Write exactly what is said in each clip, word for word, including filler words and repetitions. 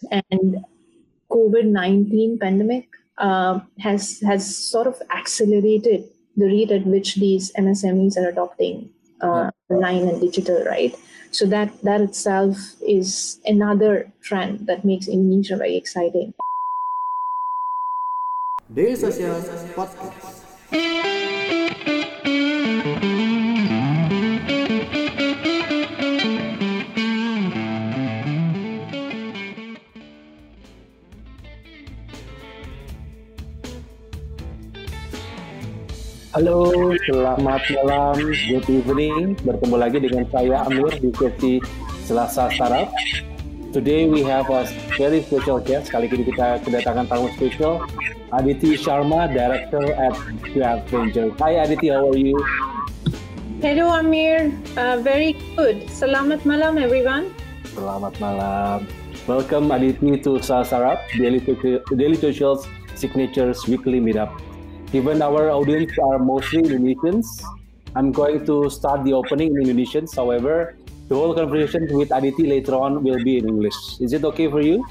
And COVID nineteen pandemic uh, has has sort of accelerated the rate at which these M S M Es are adopting uh, online and digital, right? So that that itself is another trend that makes Indonesia very exciting. Daily Social Podcast. Halo, selamat malam, good evening. Bertemu lagi dengan saya Amir di sesi Selasa Startup. Today we have a very special guest. Kali ini kita kedatangan tamu spesial, Aditi Sharma, Director at Grab Ventures. Hi Aditi, how are you? Hello Amir, uh, very good. Selamat malam everyone. Selamat malam. Welcome Aditi to Startup, Daily, Daily Social's Signatures Weekly Meetup. Given our audience are mostly Indonesians, I'm going to start the opening in Indonesian. However, the whole conversation with Aditi later on will be in English. Is it okay for you?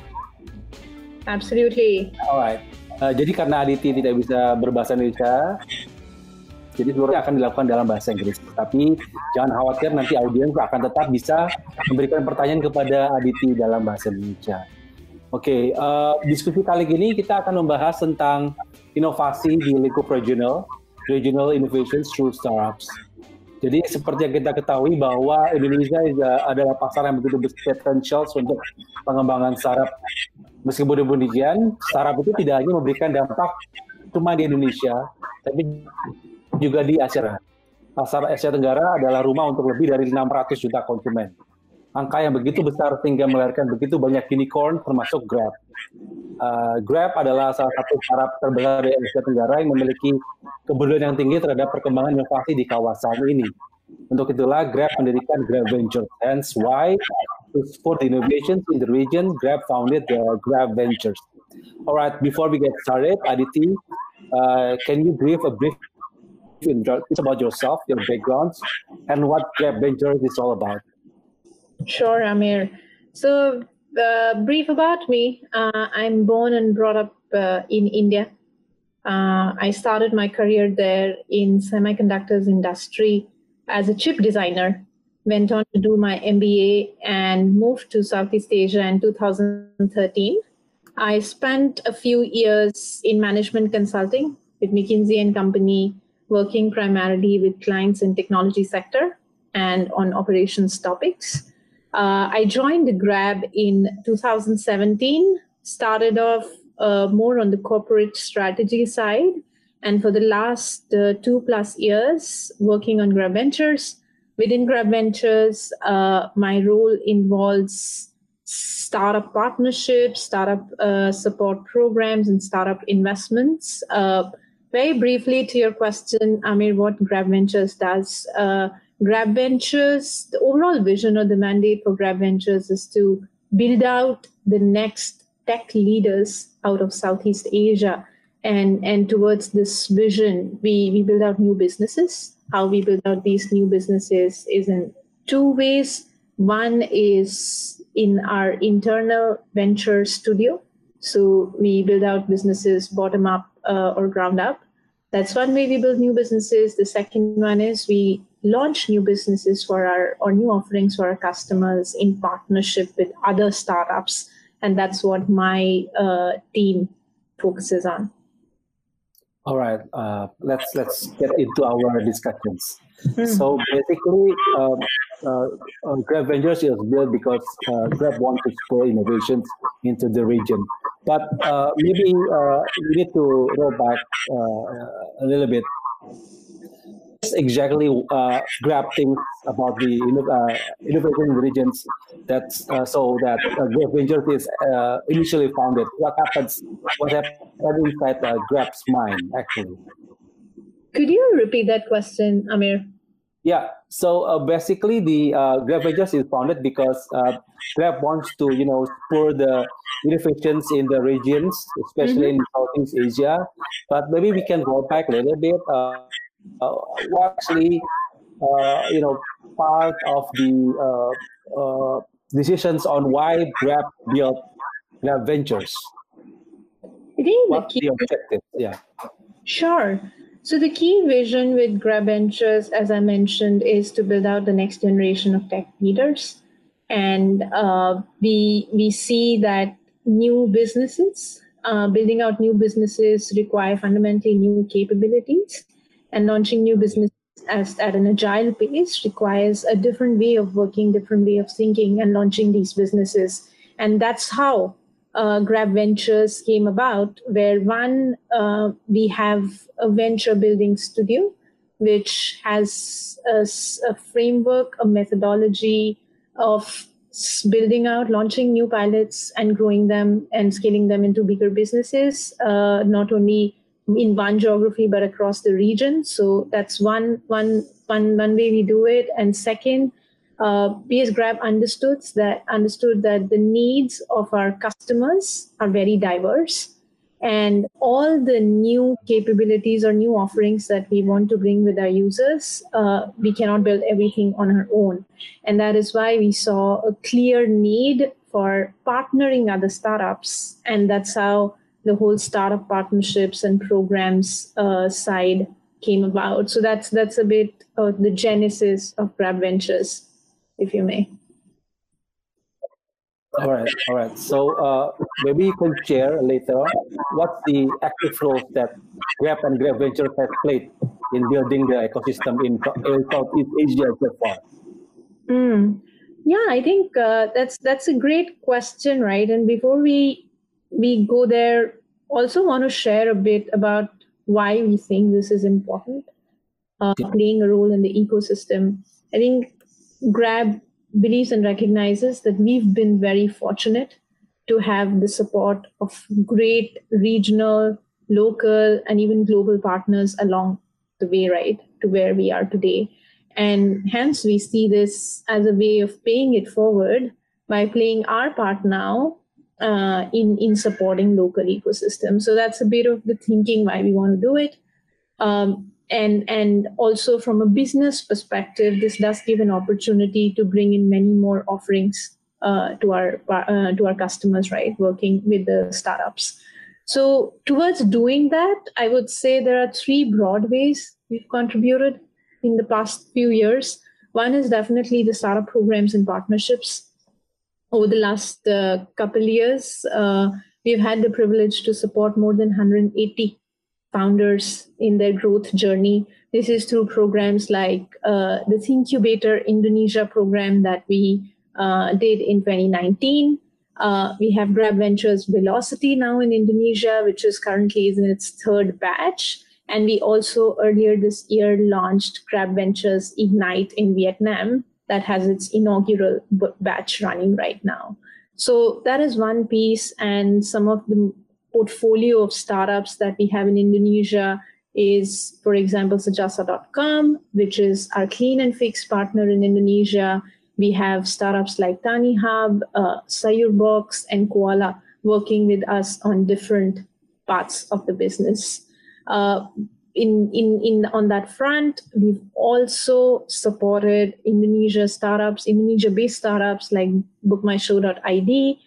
Absolutely. Alright. Uh, jadi karena Aditi tidak bisa berbahasa Indonesia, jadi seluruhnya akan dilakukan dalam bahasa Inggris. Tapi jangan khawatir, nanti audiens akan tetap bisa memberikan pertanyaan kepada Aditi dalam bahasa Indonesia. Oke, okay, uh, diskusi kali ini kita akan membahas tentang inovasi di lingkup regional, regional innovations through startups. Jadi seperti yang kita ketahui bahwa Indonesia adalah pasar yang begitu besar potensial untuk pengembangan startup. Meskipun demikian, startup itu tidak hanya memberikan dampak cuma di Indonesia, tapi juga di Asia. Pasar Asia Tenggara adalah rumah untuk lebih dari enam ratus juta konsumen. Angka yang begitu besar sehingga melahirkan begitu banyak unicorn termasuk Grab. Uh, Grab adalah salah satu startup terbesar di Asia Tenggara yang memiliki kepedulian yang tinggi terhadap perkembangan inovasi di kawasan ini. Untuk itulah Grab mendirikan Grab Ventures. Hence why to support the innovations in the region, Grab founded the Grab Ventures. Alright, before we get started, Aditi, uh, can you give a brief introduction about yourself, your backgrounds, and what Grab Ventures is all about? Sure, Amir. So, uh, brief about me. Uh, I'm born and brought up uh, in India. Uh, I started my career there in semiconductors industry as a chip designer. Went on to do my M B A and moved to Southeast Asia in two thousand thirteen. I spent a few years in management consulting with McKinsey and Company, working primarily with clients in technology sector and on operations topics. Uh, I joined Grab in two thousand seventeen, started off uh, more on the corporate strategy side, and for the last uh, two plus years working on Grab Ventures. Within Grab Ventures, uh, my role involves startup partnerships, startup uh, support programs, and startup investments. Uh, very briefly to your question, Amir, what Grab Ventures does. Uh, Grab Ventures, the overall vision or the mandate for Grab Ventures is to build out the next tech leaders out of Southeast Asia. And, and towards this vision, we, we build out new businesses. How we build out these new businesses is in two ways. One is in our internal venture studio. So we build out businesses bottom up uh, or ground up. That's one way we build new businesses. The second one is we launch new businesses for our or new offerings for our customers in partnership with other startups, and that's what my uh, team focuses on. All right, uh, let's let's get into our discussions. Mm. So basically, um, uh, uh, Grab Ventures is built because uh, Grab wants to spur innovations into the region. But uh, maybe uh, we need to roll back uh, a little bit. Exactly uh, Grab thinks about the uh, innovation in the regions that uh, so that uh, Grab Ventures is uh, initially founded. What happens? What happened inside uh, Grab's mind actually? Could you repeat that question, Amir? Yeah. So uh, basically, the uh, Grab Ventures is founded because uh, Grab wants to you know spur the innovations in the regions, especially mm-hmm. in Southeast Asia. But maybe we can go back a little bit. Uh, Uh, actually, uh, you know, part of the uh, uh, decisions on why Grab built Grab Ventures? I think the What's key the objective? Yeah. Sure. So the key vision with Grab Ventures, as I mentioned, is to build out the next generation of tech leaders, and uh, we we see that new businesses, uh, building out new businesses, require fundamentally new capabilities, and launching new businesses as at an agile pace requires a different way of working, different way of thinking, and launching these businesses. And that's how uh, Grab Ventures came about, where one, uh, we have a venture building studio, which has a, s- a framework, a methodology of s- building out, launching new pilots and growing them and scaling them into bigger businesses, uh, not only in one geography, but across the region. So that's one, one, one, one way we do it. And second, uh, P S Grab understood that understood that the needs of our customers are very diverse, and all the new capabilities or new offerings that we want to bring with our users, uh, we cannot build everything on our own, and that is why we saw a clear need for partnering other startups, and that's how the whole startup partnerships and programs uh, side came about. So that's that's a bit of the genesis of Grab Ventures, if you may. All right, all right. So uh, maybe you can share later what's the active roles that Grab and Grab Ventures has played in building the ecosystem in in Southeast Asia so far. Mm. Yeah, I think uh, that's that's a great question, right? And before we we go there, also want to share a bit about why we think this is important, uh, playing a role in the ecosystem. I think Grab believes and recognizes that we've been very fortunate to have the support of great regional, local, and even global partners along the way, right, to where we are today. And hence, we see this as a way of paying it forward by playing our part now uh, in, in supporting local ecosystems. So that's a bit of the thinking why we want to do it. Um, and and also from a business perspective, this does give an opportunity to bring in many more offerings uh, to our uh, to our customers, right? Working with the startups. So towards doing that, I would say there are three broad ways we've contributed in the past few years. One is definitely the startup programs and partnerships. Over the last uh, couple years, uh, we've had the privilege to support more than one hundred eighty founders in their growth journey. This is through programs like uh, the Thinkubator Indonesia program that we uh, did in twenty nineteen. Uh, we have Grab Ventures Velocity now in Indonesia, which is currently in its third batch. And we also earlier this year launched Grab Ventures Ignite in Vietnam that has its inaugural b- batch running right now. So that is one piece, and some of the portfolio of startups that we have in Indonesia is, for example, Sejasa dot com, which is our clean and fix partner in Indonesia. We have startups like Tani Hub, uh, Sayurbox, and Koala working with us on different parts of the business. Uh, in, in, in on that front, we've also supported Indonesia startups, Indonesia-based startups like book my show dot I D,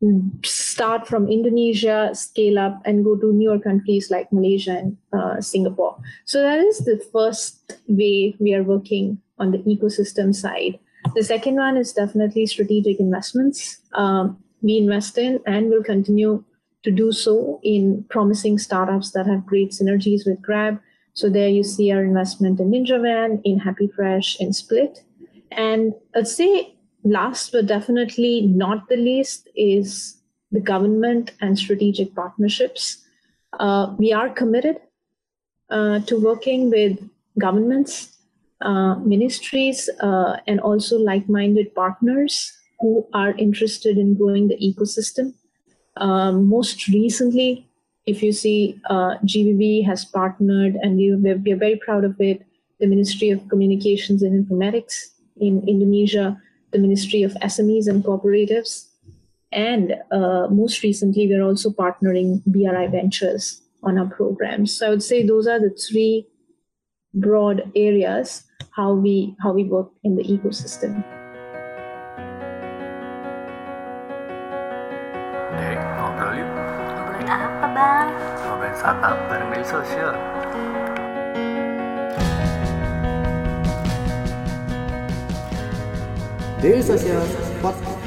start from Indonesia, scale up, and go to newer countries like Malaysia and uh, Singapore. So that is the first way we are working on the ecosystem side. The second one is definitely strategic investments. Um, we invest in and will continue to do so in promising startups that have great synergies with Grab. So there you see our investment in NinjaVan, in HappyFresh, in Split. And let's say last but definitely not the least is the government and strategic partnerships. Uh, we are committed uh, to working with governments, uh, ministries, uh, and also like-minded partners who are interested in growing the ecosystem. Um, most recently, if you see, uh, G V B has partnered, and we, we're, we're very proud of it, the Ministry of Communications and Informatics in Indonesia, the Ministry of S M Es and Cooperatives, and uh, most recently, we're also partnering B R I Ventures on our programs. So I would say those are the three broad areas how we how we work in the ecosystem. ngobrol yuk. Ngobrolin apa, Bang? Ngobrolin startup bareng media sosial. Daily Social Podcast.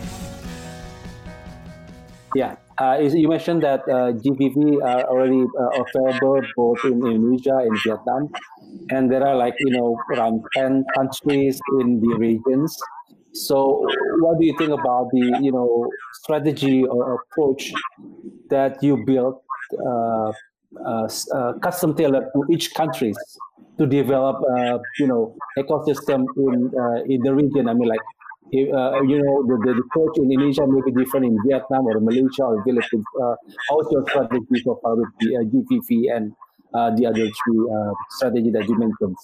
Yeah, uh, you mentioned that uh, G V V are already uh, available both in Indonesia and Vietnam, and there are like you know around ten countries in the regions. So, what do you think about the you know strategy or approach that you built, uh, uh, uh, custom tailored to each countries to develop uh, you know ecosystem in uh, in the region? I mean, like uh, you know the, the approach in Indonesia may be different in Vietnam or Malaysia or Philippines. Uh, how's your strategy so far with the uh, G V V and uh, the other three uh, strategy that you mentioned?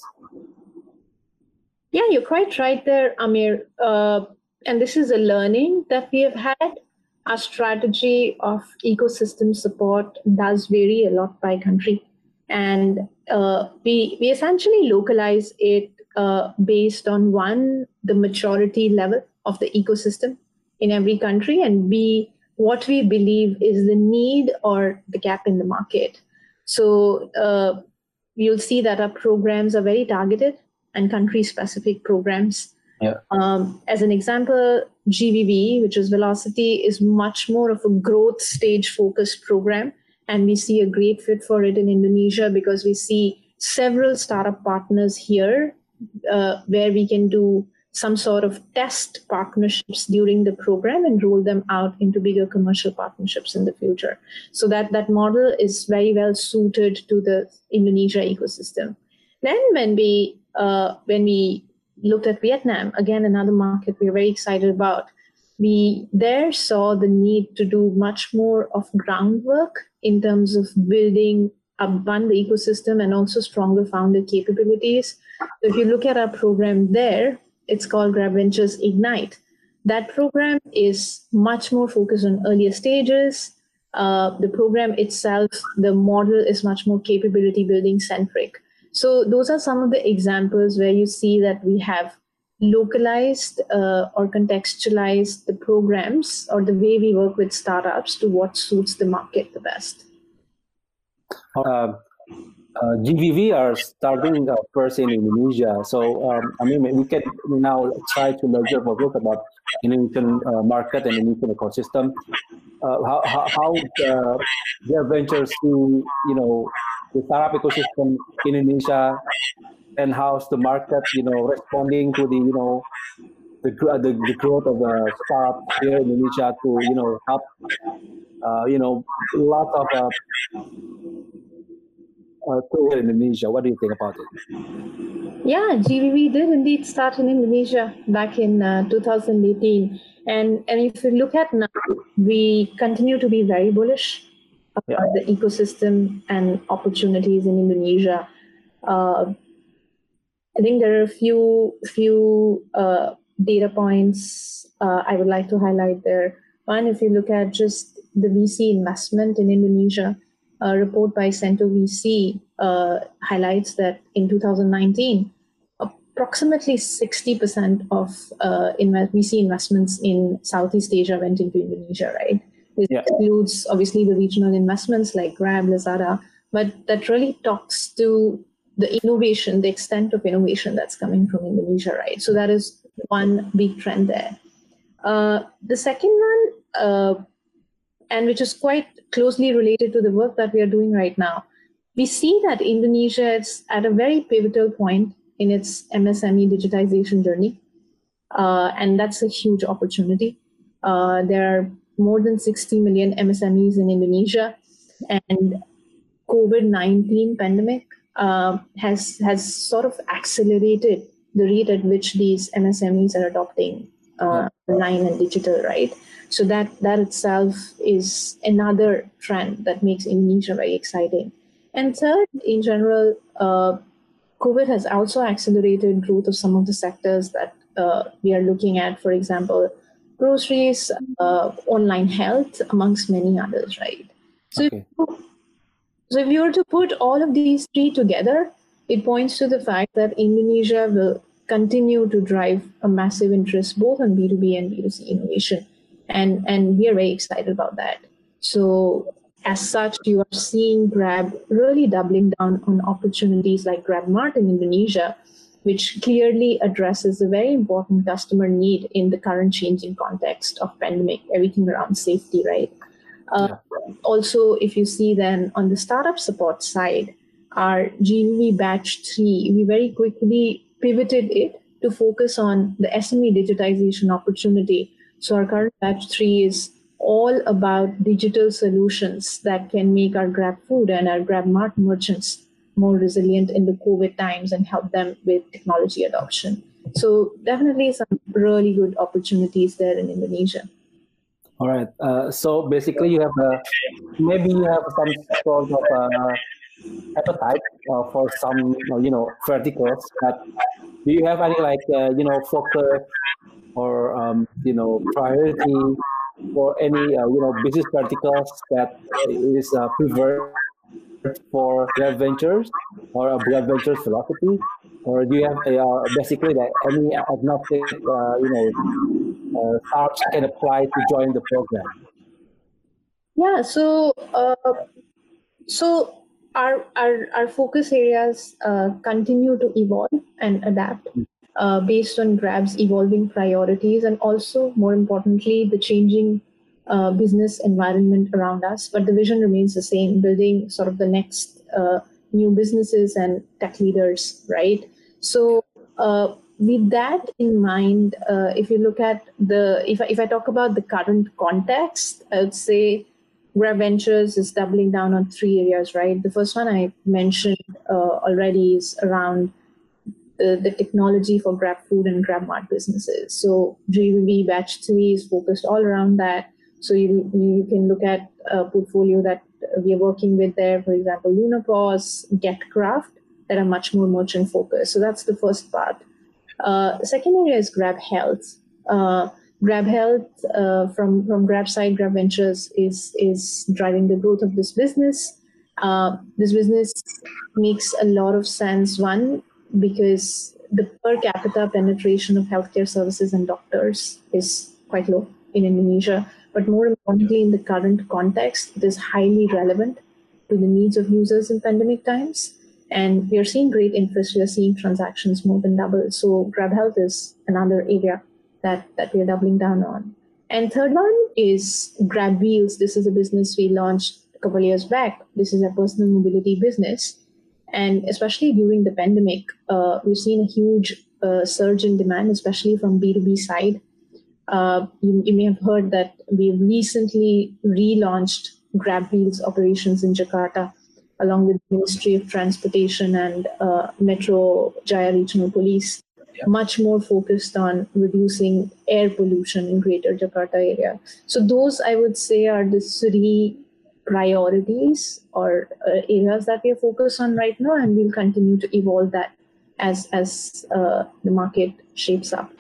Yeah, you're quite right there, Amir. Uh, and this is a learning that we have had. Our strategy of ecosystem support does vary a lot by country. And uh, we, we essentially localize it uh, based on one, the maturity level of the ecosystem in every country, and B, what we believe is the need or the gap in the market. So uh, you'll see that our programs are very targeted and country-specific programs. Yeah. Um, as an example, G V V, which is Velocity, is much more of a growth stage-focused program, and we see a great fit for it in Indonesia because we see several startup partners here uh, where we can do some sort of test partnerships during the program and roll them out into bigger commercial partnerships in the future. So that, that model is very well suited to the Indonesia ecosystem. Then when we uh, when we looked at Vietnam, again, another market we're very excited about, we there saw the need to do much more of groundwork in terms of building up one, the ecosystem and also stronger founder capabilities. So if you look at our program there, it's called Grab Ventures Ignite. That program is much more focused on earlier stages. Uh, the program itself, the model is much more capability building centric. So those are some of the examples where you see that we have localized uh, or contextualized the programs or the way we work with startups to what suits the market the best. Uh, uh, G V V are starting uh, first in Indonesia. So, um, I mean, we can now try to measure focus about Indonesian uh, market and Indonesian ecosystem. Uh, how how, how uh, their ventures to, you know, the startup ecosystem in Indonesia, and how's the market, you know, responding to the, you know, the the, the growth of the startup here in Indonesia to, you know, help, uh, you know, lots of uh, uh, here in Indonesia. What do you think about it? Yeah, G V V did indeed start in Indonesia back in uh, two thousand eighteen. And, and if you look at now, we continue to be very bullish about yeah. the ecosystem and opportunities in Indonesia. Uh, I think there are a few few uh, data points uh, I would like to highlight there. One, if you look at just the V C investment in Indonesia, a report by Cento V C uh, highlights that in two thousand nineteen, approximately sixty percent of uh, V C investments in Southeast Asia went into Indonesia, right? This yeah. includes obviously the regional investments like Grab, Lazada, but that really talks to the innovation, the extent of innovation that's coming from Indonesia, right? So that is one big trend there. Uh, the second one, uh, and which is quite closely related to the work that we are doing right now, we see that Indonesia is at a very pivotal point in its M S M E digitization journey. Uh, and that's a huge opportunity. Uh, there are more than sixty million M S M Es in Indonesia, and COVID nineteen pandemic uh, has has sort of accelerated the rate at which these M S M Es are adopting uh, online and digital, right? So that, that itself is another trend that makes Indonesia very exciting. And third, in general, uh, COVID has also accelerated growth of some of the sectors that uh, we are looking at, for example, groceries, uh, online health, amongst many others, right? So, okay. if, so if you were to put all of these three together, it points to the fact that Indonesia will continue to drive a massive interest both on B two B and B two C innovation. And, and we are very excited about that. So as such, you are seeing Grab really doubling down on opportunities like GrabMart in Indonesia, which clearly addresses a very important customer need in the current changing context of pandemic, everything around safety, right? Uh, yeah. Also, if you see then on the startup support side, our G V V batch three, we very quickly pivoted it to focus on the S M E digitization opportunity. So our current batch three is all about digital solutions that can make our GrabFood and our GrabMart merchants more resilient in the COVID times and help them with technology adoption. So definitely some really good opportunities there in Indonesia. All right. Uh, so basically, you have a maybe you have some sort of uh, appetite uh, for some you know verticals. But do you have any like uh, you know focus or um, you know priority for any uh, you know business verticals that is uh, preferred for Grab Ventures or a Grab Ventures philosophy, or do you have uh, basically like any agnostic uh, you know uh, startups can apply to join the program? Yeah, so uh, so our our our focus areas uh, continue to evolve and adapt uh, based on Grab's evolving priorities and also more importantly the changing uh, business environment around us. But the vision remains the same: building sort of the next uh, new businesses and tech leaders, right? So. Uh, with that in mind, uh, if you look at the, if I, if I talk about the current context, I would say Grab Ventures is doubling down on three areas, right? The first one I mentioned uh, already is around the, the technology for GrabFood and GrabMart businesses. So G V V Batch three is focused all around that. So you, you can look at a portfolio that we are working with there, for example, LunaPause, GetCraft, that are much more merchant focused. So that's the first part. Uh, the second area is Grab Health. Uh, Grab Health uh, from from Grab side, Grab Ventures is is driving the growth of this business. Uh, this business makes a lot of sense. One, because the per capita penetration of healthcare services and doctors is quite low in Indonesia. But more importantly, in the current context, it is highly relevant to the needs of users in pandemic times. And we are seeing great interest. We are seeing transactions more than double. So Grab Health is another area that, that we are doubling down on. And third one is Grab Wheels. This is a business we launched a couple of years back. This is a personal mobility business. And especially during the pandemic, uh, we've seen a huge uh, surge in demand, especially from B two B side. Uh, you, you may have heard that we recently relaunched Grab Wheels operations in Jakarta, along with the Ministry of Transportation and uh, Metro Jaya Regional Police, yeah. Much more focused on reducing air pollution in Greater Jakarta area. So those, I would say, are the three priorities or uh, areas that we are focused on right now, and we'll continue to evolve that as, as uh, the market shapes up.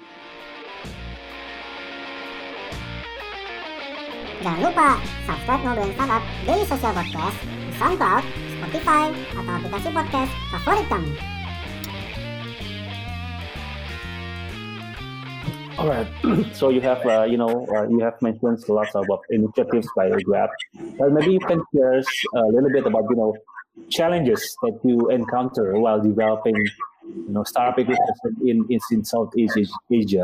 Jangan lupa subscribe Ngobrolin Startup Daily Social Podcast di SoundCloud, Spotify, atau aplikasi podcast favorit kamu. Alright, so you have, uh, you know, uh, you have mentioned lots of initiatives by Grab. Well, maybe you can share a little bit about, you know, challenges that you encounter while developing, you know, startup ecosystem in, in in Southeast Asia.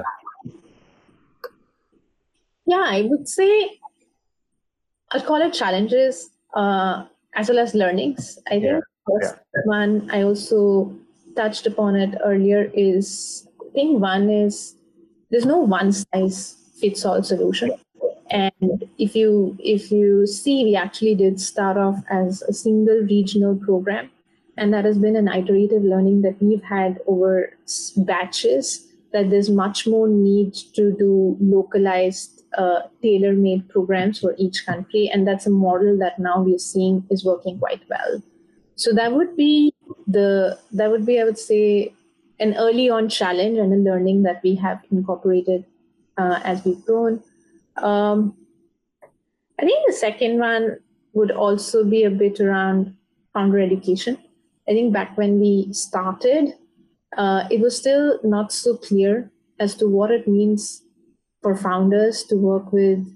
Yeah, I would say I'd call it challenges uh, as well as learnings. I think yeah. first yeah. one, I also touched upon it earlier, is I think one is there's no one size fits all solution. And if you if you see, we actually did start off as a single regional program, and that has been an iterative learning that we've had over batches, that there's much more need to do localized Uh, tailor-made programs for each country, and that's a model that now we're seeing is working quite well. So that would be the that would be I would say an early on challenge and a learning that we have incorporated uh, as we've grown. Um, I think the second one would also be a bit around founder education. I think back when we started, uh, it was still not so clear as to what it means for founders to work with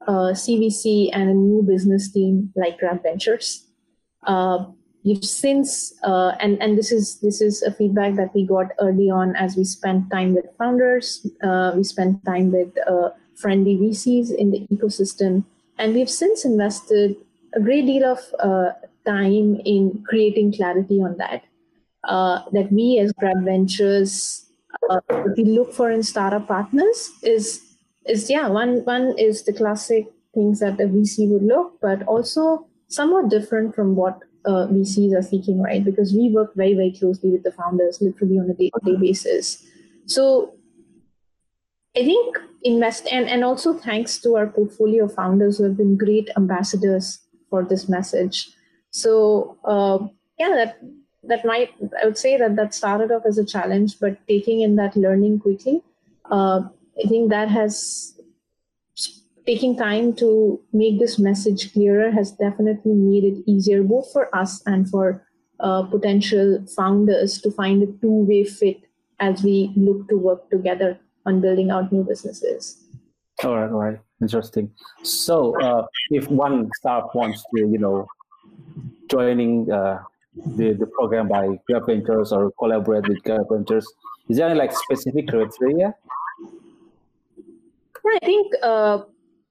uh, C V C and a new business team like Grab Ventures. Uh, You've since, uh, and, and this is this is a feedback that we got early on as we spent time with founders, uh, we spent time with uh, friendly V Cs in the ecosystem, and we've since invested a great deal of uh, time in creating clarity on that. Uh, that we as Grab Ventures, uh, what we look for in startup partners is, is yeah, one one is the classic things that a V C would look, but also somewhat different from what Uh, V Cs are seeking, right? Because we work very, very closely with the founders, literally on a day-to-day basis. So I think invest, and, and also thanks to our portfolio of founders who have been great ambassadors for this message. So uh, yeah, that that might, I would say that that started off as a challenge, but taking in that learning quickly, uh, I think that has taking time to make this message clearer has definitely made it easier both for us and for uh, potential founders to find a two-way fit as we look to work together on building out new businesses. All right, all right, interesting. So, uh, if one startup wants to, you know, joining uh, the the program by Grab Ventures or collaborate with Grab Ventures, is there any like specific criteria? Yeah, I think. Uh,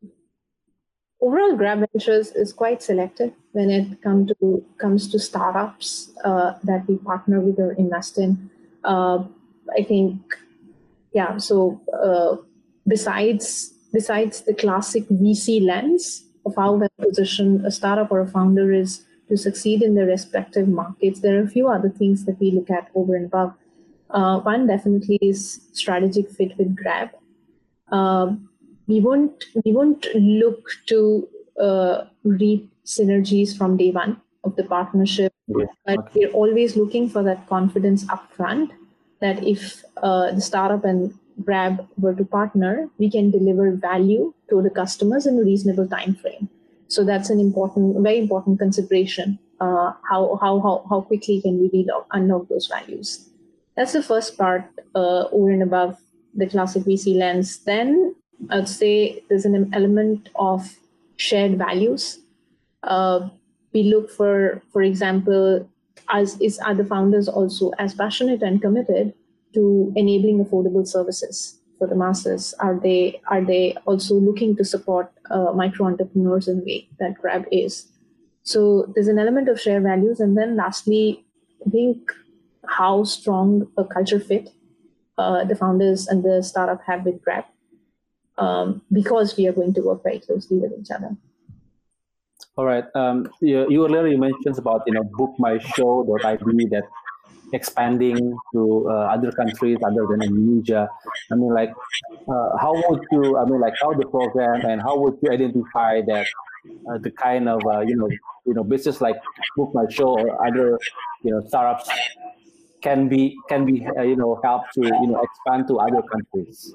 Overall, Grab Ventures is quite selective when it come to, comes to startups uh, that we partner with or invest in. Uh, I think, yeah, so uh, besides besides the classic V C lens of how well positioned a startup or a founder is to succeed in their respective markets, there are a few other things that we look at over and above. Uh, one definitely is strategic fit with Grab. Uh, We won't we won't look to uh, reap synergies from day one of the partnership, Yeah. but Okay. we're always looking for that confidence upfront that if uh, the startup and Grab were to partner, we can deliver value to the customers in a reasonable time frame. So that's an important, very important consideration. Uh, how how how how quickly can we relock, unlock those values? That's the first part uh, over and above the classic V C lens. Then I'd say there's an element of shared values. Uh, we look for, for example, as is are the founders also as passionate and committed to enabling affordable services for the masses? Are they are they also looking to support uh, micro entrepreneurs in a way that Grab is? So there's an element of shared values, and then lastly, I think how strong a culture fit uh, the founders and the startup have with Grab. Um, because we are going to work very closely with each other. All right. Um, you, you earlier you mentioned about you know book my show dot I D that expanding to uh, other countries other than Indonesia. I mean, like, uh, how would you? I mean, like, how the program and how would you identify that uh, the kind of uh, you know you know business like Book My Show or other you know startups can be can be uh, you know help to you know expand to other countries.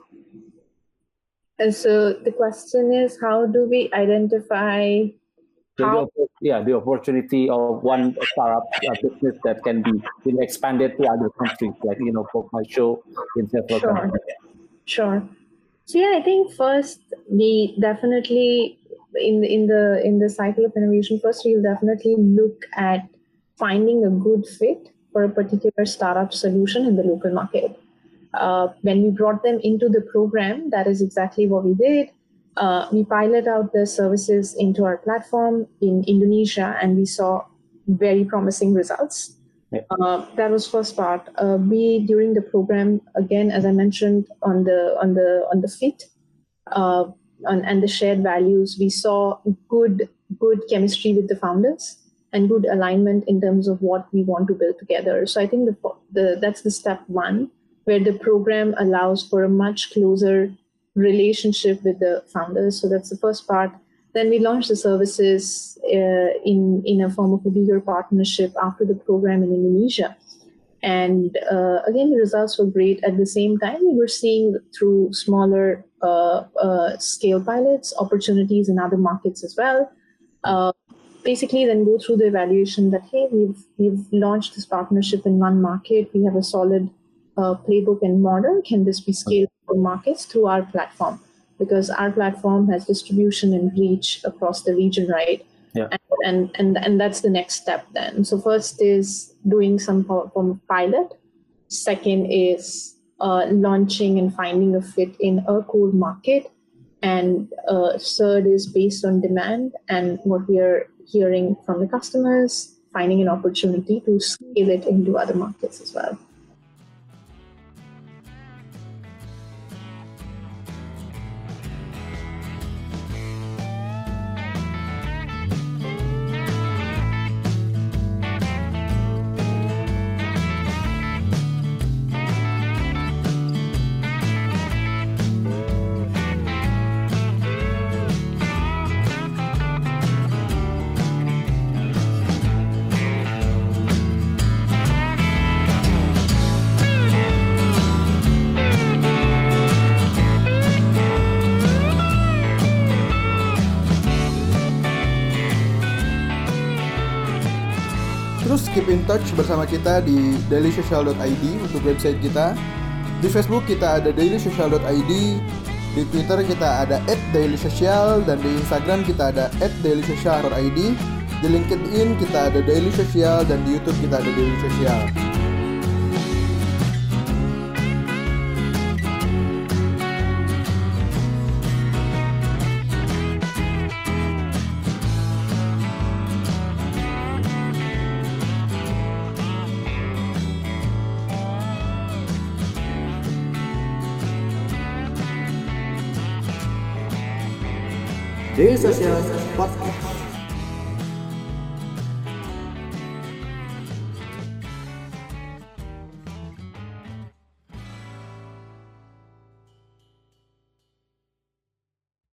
And so the question is, how do we identify how? The, yeah, the opportunity of one startup uh, business that can be you know, expanded to other countries, like you know, Book My Show in several Sure. countries. Sure. So yeah, I think first we definitely in in the in the cycle of innovation, first we'll definitely look at finding a good fit for a particular startup solution in the local market. Uh, when we brought them into the program, that is exactly what we did. Uh, we pilot out the services into our platform in Indonesia, and we saw very promising results. Yeah. Uh, that was first part. Uh, we during the program, again, as I mentioned on the on the on the fit uh, on, and the shared values, we saw good good chemistry with the founders and good alignment in terms of what we want to build together. So I think the the that's the step one, where the program allows for a much closer relationship with the founders. So that's the first part. Then we launched the services uh, in, in a form of a bigger partnership after the program in Indonesia. And uh, again, the results were great. At the same time, we were seeing through smaller uh, uh, scale pilots, opportunities in other markets as well. Uh, basically, then go through the evaluation that, hey, we've, we've launched this partnership in one market. We have a solid uh, playbook and model. Can this be scaled for markets through our platform? because our platform has distribution and reach across the region, right? Yeah. And, and and and that's the next step then. So first is doing some form of pilot. Second is uh, launching and finding a fit in a core market. And uh, third is based on demand and what we are hearing from the customers, finding an opportunity to scale it into other markets as well. Terus keep in touch bersama kita di daily social dot i d untuk website kita. Di Facebook kita ada daily social dot i d, di Twitter kita ada at dailysocial, dan di Instagram kita ada at dailysocial dot i d. Di LinkedIn kita ada Daily Social, dan di YouTube kita ada Daily Social. Daily Social Podcast.